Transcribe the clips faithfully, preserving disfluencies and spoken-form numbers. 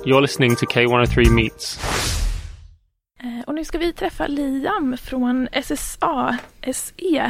You're listening to K one oh three Meets. Eh, och nu ska vi träffa Liam från S S A S E.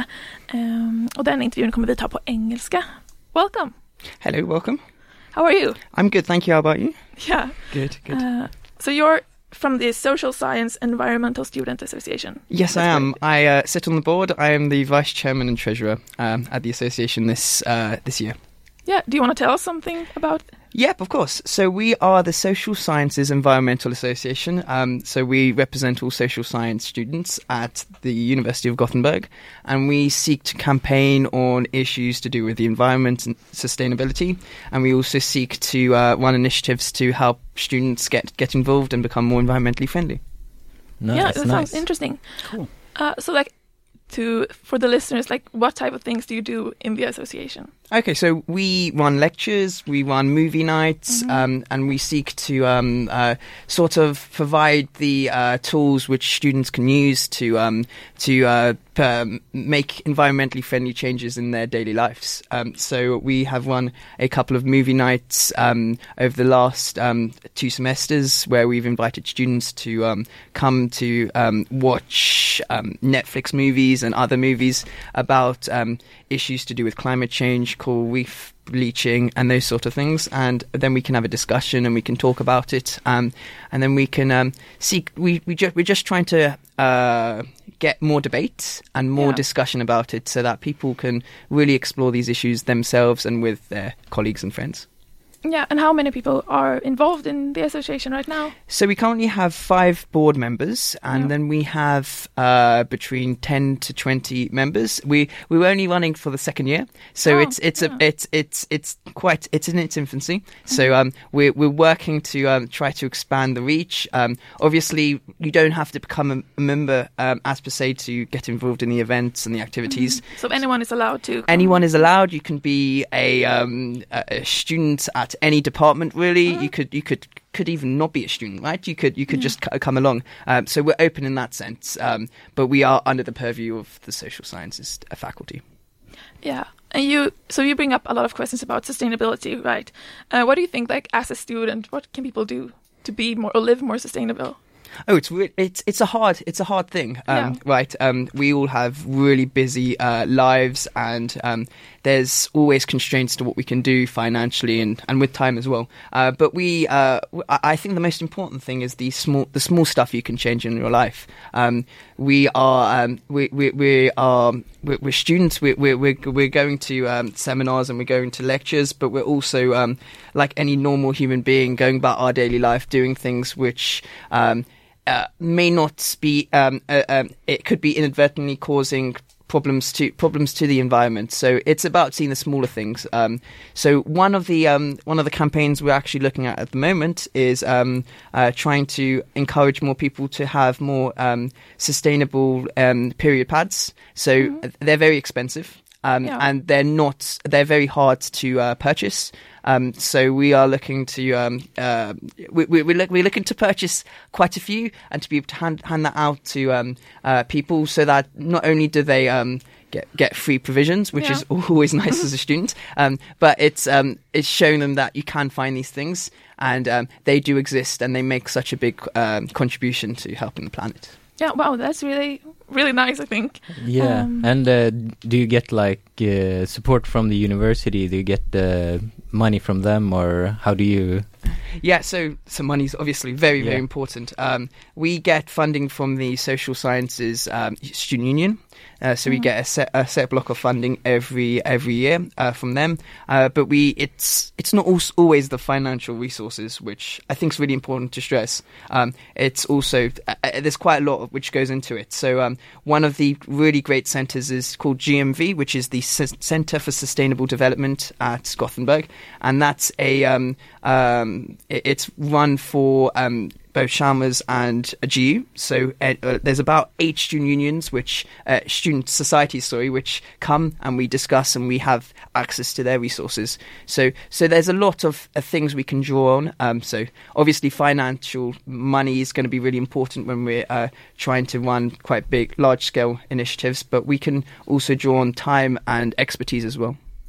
Um, och den intervjun kommer vi ta på engelska. Welcome. Hello, welcome. How are you? I'm good, thank you. How about you? Yeah. Good, good. Uh, so you're from the Social Science Environmental Student Association. Yes, That's I am. great. I uh, sit on the board. I am the vice chairman and treasurer um, at the association this uh, this year. Yeah, do you want to tell us something about Yep, of course. So we are the Social Sciences Environmental Association. Um, so we represent all social science students at the University of Gothenburg, and we seek to campaign on issues to do with the environment and sustainability. And we also seek to uh, run initiatives to help students get, get involved and become more environmentally friendly. Nice, Yeah, that nice. sounds interesting. Cool. Uh, so like to for the listeners, like what type of things do you do in the association? Okay, so we run lectures, we run movie nights, Mm-hmm. um, and we seek to um, uh, sort of provide the uh, tools which students can use to um, to uh, p- um, make environmentally friendly changes in their daily lives. Um, so we have run a couple of movie nights um, over the last um, two semesters, where we've invited students to um, come to um, watch um, Netflix movies and other movies about um, issues to do with climate change, coral reef bleaching and those sort of things, and then we can have a discussion and we can talk about it, um, and then we can um, seek we, we ju- we're just trying to uh, get more debate and more Yeah. discussion about it so that people can really explore these issues themselves and with their colleagues and friends. Yeah, and how many people are involved in the association right now? So we currently have five board members, and Yeah. then we have uh, between ten to twenty members. We we were only running for the second year, so Oh, it's it's yeah. a it's it's it's quite it's in its infancy. So um, we're we're working to um, try to expand the reach. Um, obviously, you don't have to become a, a member um, as per se to get involved in the events and the activities. So anyone is allowed to come? Anyone is allowed. You can be a, um, a a student at any department. Really, you could you could could even not be a student, right? You could you could just c- come along. Um, so we're open in that sense, um, but we are under the purview of the social sciences uh, faculty. Yeah, and you so you bring up a lot of questions about sustainability, right? Uh, what do you think, like as a student, what can people do to be more or live more sustainable? Oh, it's re- it's it's a hard it's a hard thing, um, Yeah. right? Um, we all have really busy uh, lives, and um, there's always constraints to what we can do financially and, and with time as well. Uh, but we, uh, w- I I think the most important thing is the small the small stuff you can change in your life. Um, we are um, we, we we are we're, we're students. We're we're we're we're going to um, seminars and we're going to lectures, but we're also um, like any normal human being, going about our daily life, doing things which. Um, Uh, may not be. Um, uh, um, it could be inadvertently causing problems to problems to the environment. So it's about seeing the smaller things. Um, so one of the um, one of the campaigns we're actually looking at at the moment is um, uh, trying to encourage more people to have more um, sustainable um, period pads. So they're very expensive. Um, Yeah. And they're not. They're very hard to uh, purchase. Um, so we are looking to. Um, uh, we, we, we're, look, we're looking to purchase quite a few, and to be able to hand, hand that out to um, uh, people, so that not only do they um, get get free provisions, which Yeah. is always nice as a student, um, but it's um, it's showing them that you can find these things, and um, they do exist, and they make such a big um, contribution to helping the planet. Yeah, wow, that's really really nice, I think. Yeah, Um, and uh, do you get like uh, support from the university? Do you get uh, money from them, or how do you? Yeah, so so money's obviously very, very Yeah. important. Um, we get funding from the Social Sciences um, Student Union, uh, so we get a set a set block of funding every every year uh, from them. Uh, but we it's it's not al- always the financial resources, which I think is really important to stress. Um, it's also uh, uh, there's quite a lot of which goes into it. So um, one of the really great centres is called G M V, which is the S- Centre for Sustainable Development at Gothenburg, and that's a um, um, it, it's run for um, both Chalmers and a G U. So uh, uh, there's about eight student unions, which uh, student societies, sorry, which come and we discuss and we have access to their resources. So so there's a lot of uh, things we can draw on. Um, so obviously financial money is going to be really important when we're uh, trying to run quite big, large scale initiatives, but we can also draw on time and expertise as well.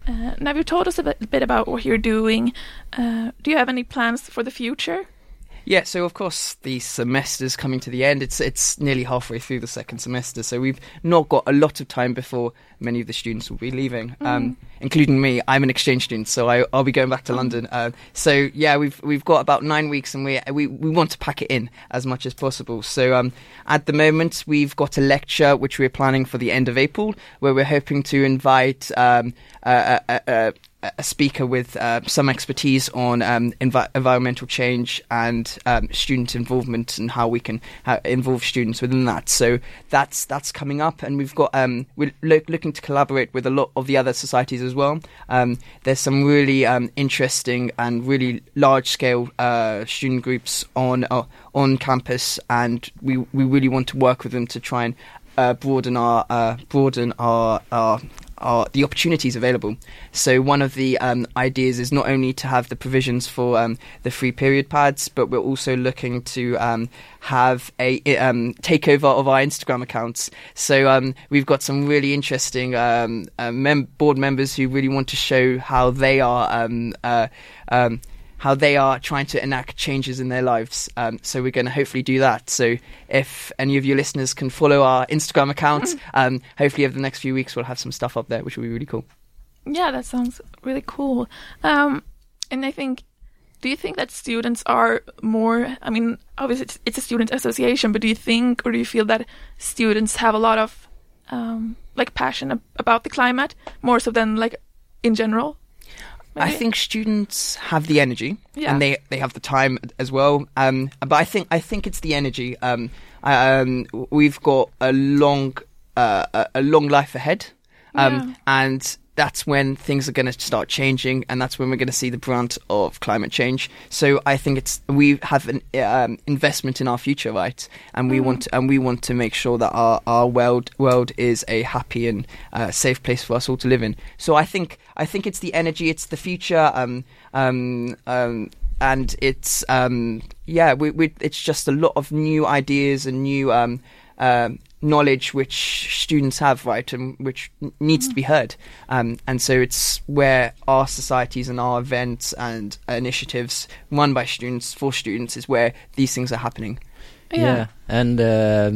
Uh, now you've told us a bit, a bit about what you're doing. Uh, do you have any plans for the future? Yeah, so of course the semester's coming to the end. It's it's nearly halfway through the second semester, so we've not got a lot of time before many of the students will be leaving, mm. um, including me. I'm an exchange student, so I, I'll be going back to mm. London. Uh, so yeah, we've we've got about nine weeks, and we we we want to pack it in as much as possible. So um, at the moment, we've got a lecture which we're planning for the end of April, where we're hoping to invite um, a, a, a a speaker with uh, some expertise on um, envi- environmental change and um, student involvement and how we can uh, involve students within that. So that's that's coming up, and we've got um, we're lo- looking to collaborate with a lot of the other societies as well. Um, there's some really um, interesting and really large scale uh, student groups on uh, on campus, and we we really want to work with them to try and uh, broaden our uh, broaden our our Are the opportunities available. So one of the um, ideas is not only to have the provisions for um, the free period pads, but we're also looking to um, have a um, takeover of our Instagram accounts. So um, we've got some really interesting um, uh, mem- board members who really want to show how they are um, uh, um, how they are trying to enact changes in their lives. Um, so we're going to hopefully do that. So if any of your listeners can follow our Instagram account, um, hopefully over the next few weeks we'll have some stuff up there, which will be really cool. Yeah, that sounds really cool. Um, and I think, do you think that students are more, I mean, obviously it's, it's a student association, but do you think, or do you feel that students have a lot of um, like passion ab- about the climate, more so than like in general? Maybe? I think students have the energy, yeah. and they they have the time as well. Um, but I think I think it's the energy. Um, I, um, we've got a long uh, a, a long life ahead, um, yeah. and that's when things are going to start changing, and that's when we're going to see the brunt of climate change. So I think it's we have an um, investment in our future, right? And we mm. want to, and we want to make sure that our our world world is a happy and uh, safe place for us all to live in. So I think I think it's the energy, it's the future, um, um, um, and it's um, yeah, we, we it's just a lot of new ideas and new um, um, knowledge which students have, right, and which needs mm. to be heard. Um, and so it's where our societies and our events and initiatives run by students for students is where these things are happening. Yeah. yeah. And um,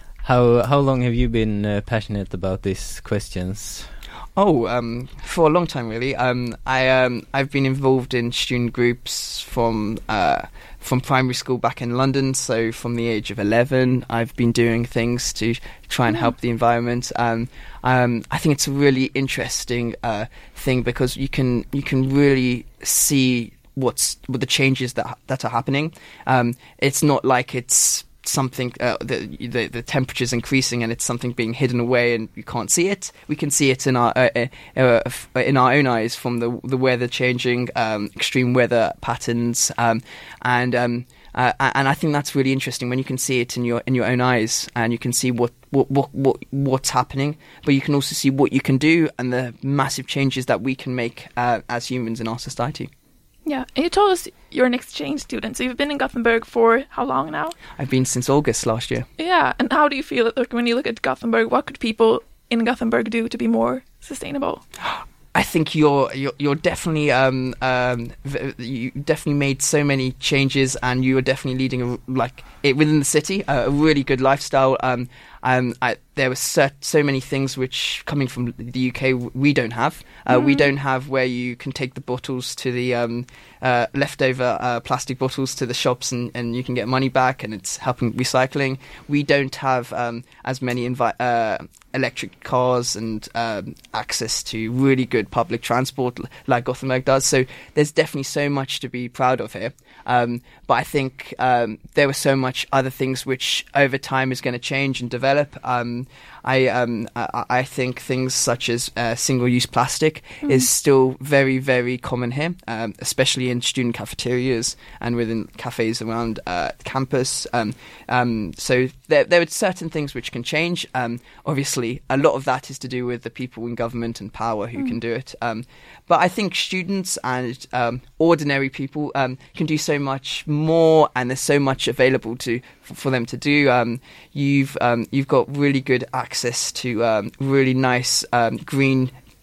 how how long have you been uh, passionate about these questions? Oh, um, for a long time, really. Um, I um, I've been involved in student groups from uh, from primary school back in London. So from the age of eleven, I've been doing things to try and yeah. help the environment. Um, um, I think it's a really interesting uh, thing because you can you can really see what's what the changes that that are happening. Um, it's not like it's something uh, the, the the temperature's increasing and it's something being hidden away and you can't see it. We can see it in our uh, uh, uh, in our own eyes from the the weather changing, um, extreme weather patterns, um, and um, uh, and I think that's really interesting when you can see it in your in your own eyes and you can see what what what, what what's happening, but you can also see what you can do and the massive changes that we can make uh, as humans in our society. Yeah, and you told us you're an exchange student, so you've been in Gothenburg for how long now? I've been since August last year. Yeah, and how do you feel like, when you look at Gothenburg? What could people in Gothenburg do to be more sustainable? I think you're you're, you're definitely um, um, you definitely made so many changes, and you are definitely leading a, like it within the city a, a really good lifestyle. Um, um, I, there were so, so many things which coming from the U K we don't have. Uh, mm. We don't have where you can take the bottles to the um, uh, leftover uh, plastic bottles to the shops and, and you can get money back, and it's helping recycling. We don't have um, as many invi- uh, electric cars and um, access to really good public transport like Gothenburg does. So there's definitely so much to be proud of here. Um, but I think um, there were so much other things which over time is going to change and develop. Um, I, um, I I think things such as uh, single-use plastic mm. is still very, very common here, um, especially in student cafeterias and within cafes around uh, campus. Um, um, so there, there are certain things which can change. Um, obviously, a lot of that is to do with the people in government and power who mm. can do it. Um, but I think students and um, ordinary people um, can do so much more, and there's so much available to for, for them to do. Um, you've um, you've got really good access to um, really nice um, green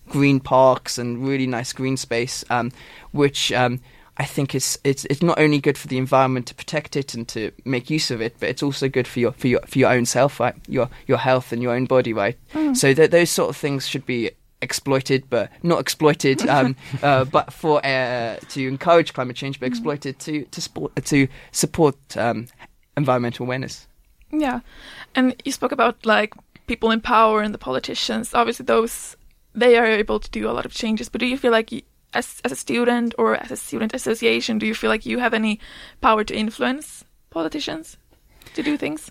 green parks and really nice green space, um, which um, I think is it's it's not only good for the environment to protect it and to make use of it, but it's also good for your for your for your own self, right? Your your health and your own body, right? Mm. So th- those sort of things should be exploited, but not exploited, um, uh, but for uh, to encourage climate change, but exploited to to support to support um, environmental awareness. Yeah, and you spoke about like people in power and the politicians. Obviously, those they are able to do a lot of changes. But do you feel like, you, as as a student or as a student association, do you feel like you have any power to influence politicians to do things?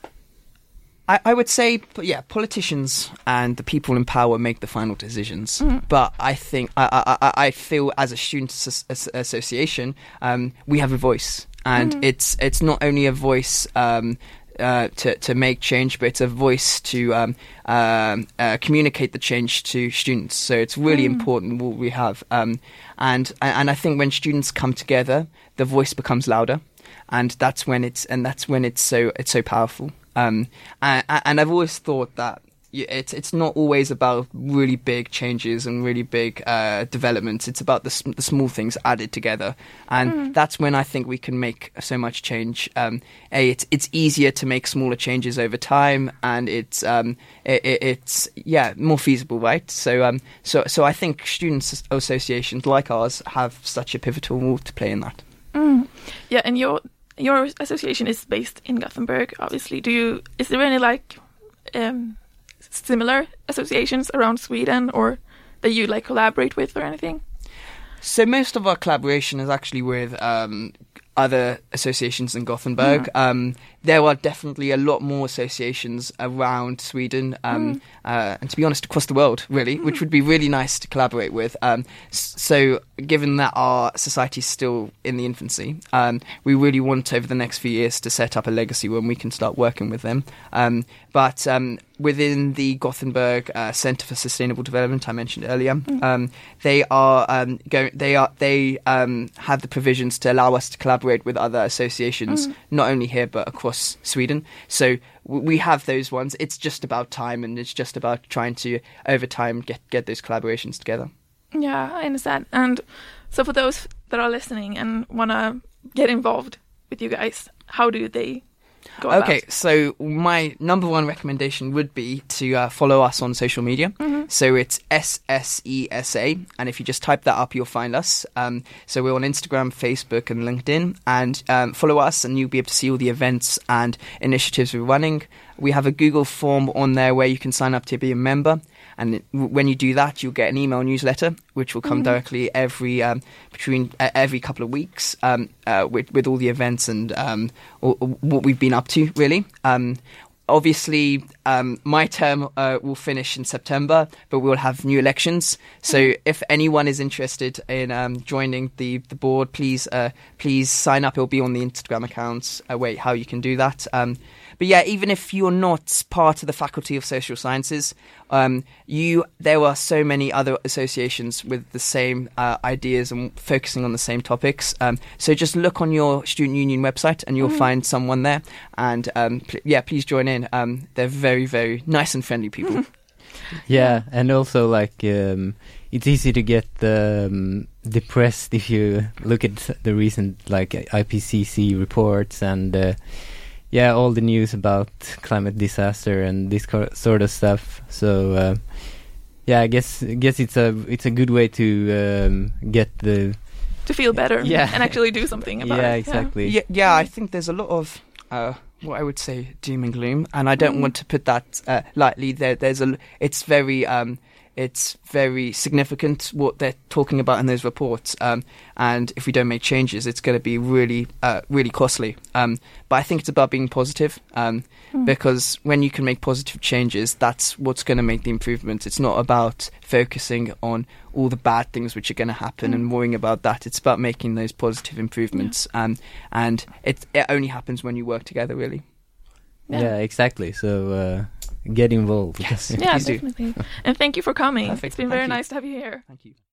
I, I would say, yeah, politicians and the people in power make the final decisions. Mm. But I think, I, I, I feel as a student as- association, um, we have a voice. And mm. it's it's not only a voice um, uh, to, to make change, but it's a voice to um, um, uh, communicate the change to students. So it's really mm. important what we have. Um, and and I think when students come together, the voice becomes louder. And that's when it's and that's when it's so it's so powerful. Um, and, and I've always thought that it's it's not always about really big changes and really big uh, developments. It's about the, the small things added together, and mm. that's when I think we can make so much change. Um, a, it's it's easier to make smaller changes over time, and it's um, it, it, it's yeah more feasible, right? So um, so so I think students associations like ours have such a pivotal role to play in that. Mm. Yeah, and your your association is based in Gothenburg, obviously. Do you is there any like um, similar associations around Sweden, or that you like collaborate with or anything? So most of our collaboration is actually with um, other associations in Gothenburg. Mm. Um, there are definitely a lot more associations around Sweden, um, mm. uh, and to be honest, across the world, really, mm. which would be really nice to collaborate with. Um, so given that our society is still in the infancy, um, we really want over the next few years to set up a legacy when we can start working with them. Um, but um, within the Gothenburg uh, Center for Sustainable Development I mentioned earlier, mm. um, they are um, going. They are they um, have the provisions to allow us to collaborate with other associations, mm. not only here but across Sweden. So w- we have those ones. It's just about time, and it's just about trying to over time get get those collaborations together. Yeah, I understand. And so for those that are listening and want to get involved with you guys, how do they go about? Okay, so my number one recommendation would be to uh, follow us on social media. Mm-hmm. So it's S S E S A, and if you just type that up, you'll find us. Um, so we're on Instagram, Facebook, and LinkedIn, and um, follow us, and you'll be able to see all the events and initiatives we're running. We have a Google form on there where you can sign up to be a member. And when you do that, you'll get an email newsletter, which will come mm-hmm. directly every um, between uh, every couple of weeks um, uh, with with all the events and um, or, or what we've been up to. Really, um, obviously, um, my term uh, will finish in September, but we'll have new elections. So, mm-hmm. if anyone is interested in um, joining the the board, please uh, please sign up. It'll be on the Instagram accounts. Uh, wait, how you can do that. Um, But yeah, even if you're not part of the Faculty of Social Sciences, um, you there are so many other associations with the same uh, ideas and focusing on the same topics. Um, so just look on your student union website and you'll mm. find someone there. And um, pl- yeah, please join in. Um, they're very, very nice and friendly people. Yeah, and also like um, it's easy to get um, depressed if you look at the recent like I P C C reports and. Uh, Yeah, all the news about climate disaster and this co- sort of stuff. So, uh, yeah, I guess I guess it's a it's a good way to um, get the to feel better, yeah. and actually do something about yeah, it. Exactly. Yeah, exactly. Yeah, I think there's a lot of uh, what I would say doom and gloom, and I don't mm. want to put that uh, lightly. There, there's a it's very. Um, It's very significant what they're talking about in those reports, um, and if we don't make changes, it's going to be really, uh, really costly. Um, but I think it's about being positive, um, mm. because when you can make positive changes, that's what's going to make the improvements. It's not about focusing on all the bad things which are going to happen mm. and worrying about that. It's about making those positive improvements, yeah. um, and it it only happens when you work together, really. Yeah, yeah exactly. So. Uh Get involved. Yes, yeah, definitely. And thank you for coming. Perfect. It's been Thank very you. nice to have you here. Thank you.